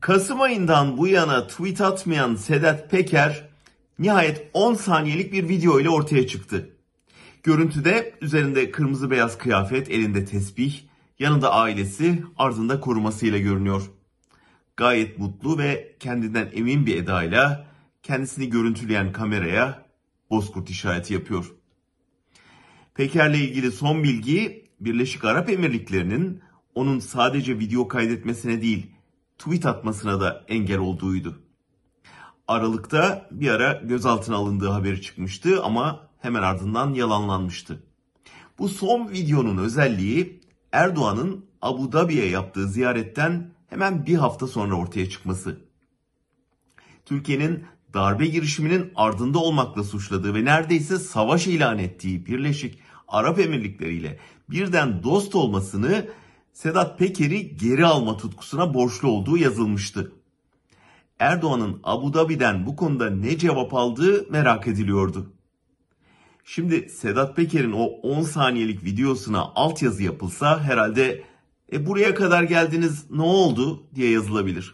Kasım ayından bu yana tweet atmayan Sedat Peker nihayet 10 saniyelik bir video ile ortaya çıktı. Görüntüde üzerinde kırmızı beyaz kıyafet, elinde tesbih, yanında ailesi, ardında korumasıyla görünüyor. Gayet mutlu ve kendinden emin bir edayla kendisini görüntüleyen kameraya bozkurt işareti yapıyor. Peker'le ilgili son bilgi, Birleşik Arap Emirlikleri'nin onun sadece video kaydetmesine değil, tweet atmasına da engel olduğuydu. Aralıkta bir ara gözaltına alındığı haberi çıkmıştı ama hemen ardından yalanlanmıştı. Bu son videonun özelliği Erdoğan'ın Abu Dhabi'ye yaptığı ziyaretten hemen bir hafta sonra ortaya çıkması. Türkiye'nin darbe girişiminin ardında olmakla suçladığı ve neredeyse savaş ilan ettiği Birleşik Arap Emirlikleri ile birden dost olmasını Sedat Peker'i geri alma tutkusuna borçlu olduğu yazılmıştı. Erdoğan'ın Abu Dhabi'den bu konuda ne cevap aldığı merak ediliyordu. Şimdi Sedat Peker'in o 10 saniyelik videosuna altyazı yapılsa herhalde buraya kadar geldiniz ne oldu diye yazılabilir.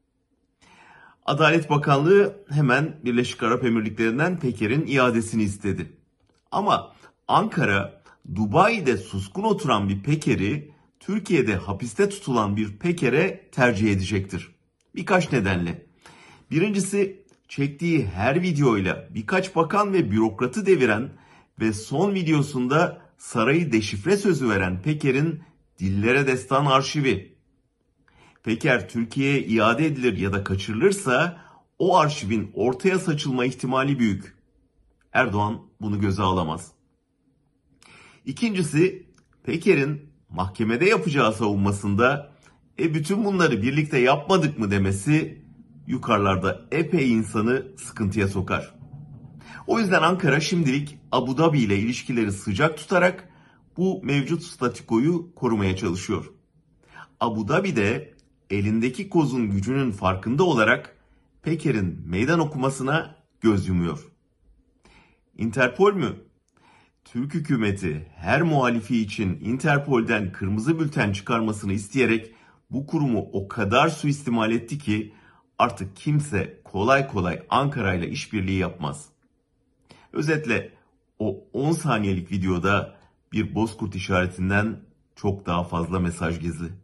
Adalet Bakanlığı hemen Birleşik Arap Emirlikleri'nden Peker'in iadesini istedi. Ama Ankara, Dubai'de suskun oturan bir Peker'i Türkiye'de hapiste tutulan bir Peker'e tercih edecektir. Birkaç nedenle. Birincisi, çektiği her videoyla birkaç bakan ve bürokratı deviren ve son videosunda sarayı deşifre sözü veren Peker'in dillere destan arşivi. Peker Türkiye'ye iade edilir ya da kaçırılırsa o arşivin ortaya saçılma ihtimali büyük. Erdoğan bunu göze alamaz. İkincisi, Peker'in mahkemede yapacağı savunmasında bütün bunları birlikte yapmadık mı demesi yukarılarda epey insanı sıkıntıya sokar. O yüzden Ankara şimdilik Abu Dhabi ile ilişkileri sıcak tutarak bu mevcut statükoyu korumaya çalışıyor. Abu Dhabi'de elindeki kozun gücünün farkında olarak Peker'in meydan okumasına göz yumuyor. Interpol mü? Türk hükümeti her muhalifi için Interpol'den kırmızı bülten çıkarmasını isteyerek bu kurumu o kadar suistimal etti ki artık kimse kolay kolay Ankara ile işbirliği yapmaz. Özetle o 10 saniyelik videoda bir bozkurt işaretinden çok daha fazla mesaj gizli.